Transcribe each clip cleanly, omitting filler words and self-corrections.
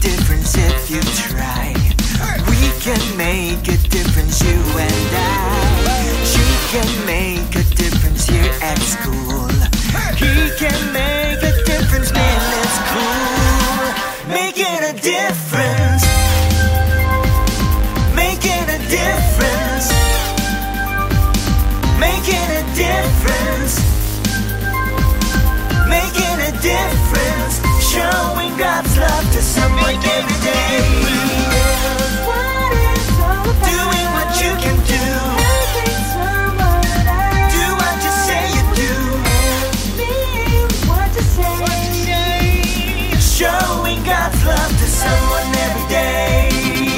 difference if you try. We can make a difference, you and I. She can make a difference here at school. He can make a difference, man, it's cool. Making a difference. Making a difference. Making a difference. Making a difference. Showing God's love to someone every day. Doing what you can do. Do what you say you do. Showing God's love to someone every day.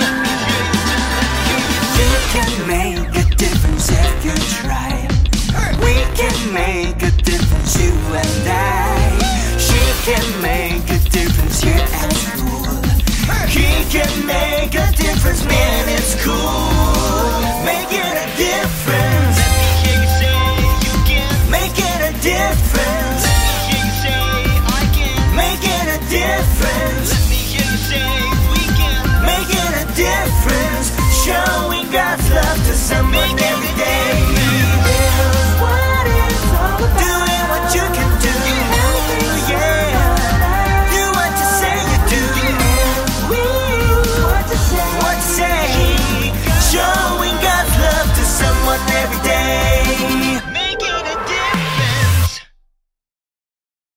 You can make a difference if you try. We can make a difference, you and I. She can make a difference here at school. He can make a difference, man, it's cool. Making a difference. Making a difference. Making a difference. Making a difference. Showing God's love to someone every day.